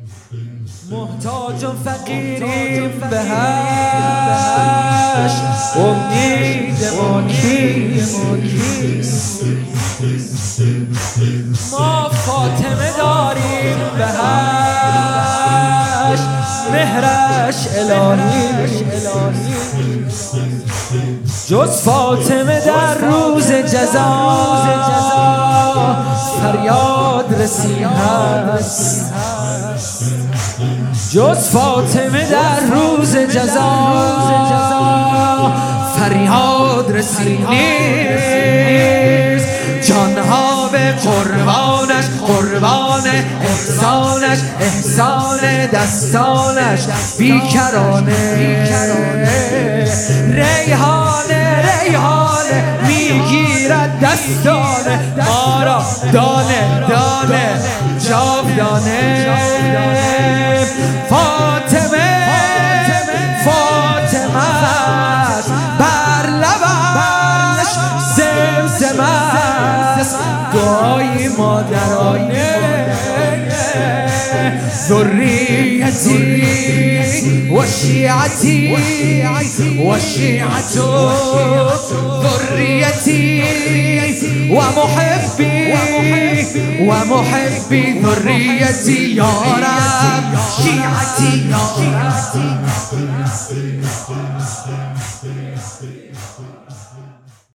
محتاج و فقیریم بهش، امید ما کیست؟ ما فاطمه داریم بهش، مهرش الهی. جز فاطمه در روز جزا فریاد رسی هست. جز فاطمه در روز جزا فریاد رسی نیست. جانها به قربانش، قربان احسانش، احسان دستانش بیکرانه. ریحانه ریحانه میگیرد دستانه ما را دانه دانه جاودانه. فاطمه فاطمه است، بر لبش زمزمه است دعای مادرانه. ذریتی و شیعتی و شیعت ذریتی و محبی و محبی ذریتی یا رب شیعتی.